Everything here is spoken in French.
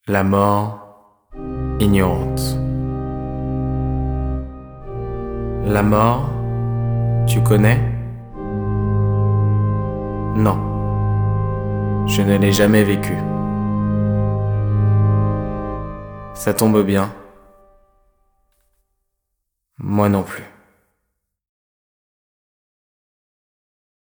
La mort ignorante. La mort, tu connais? Non, je ne l'ai jamais vécue. Ça tombe bien. Moi non plus.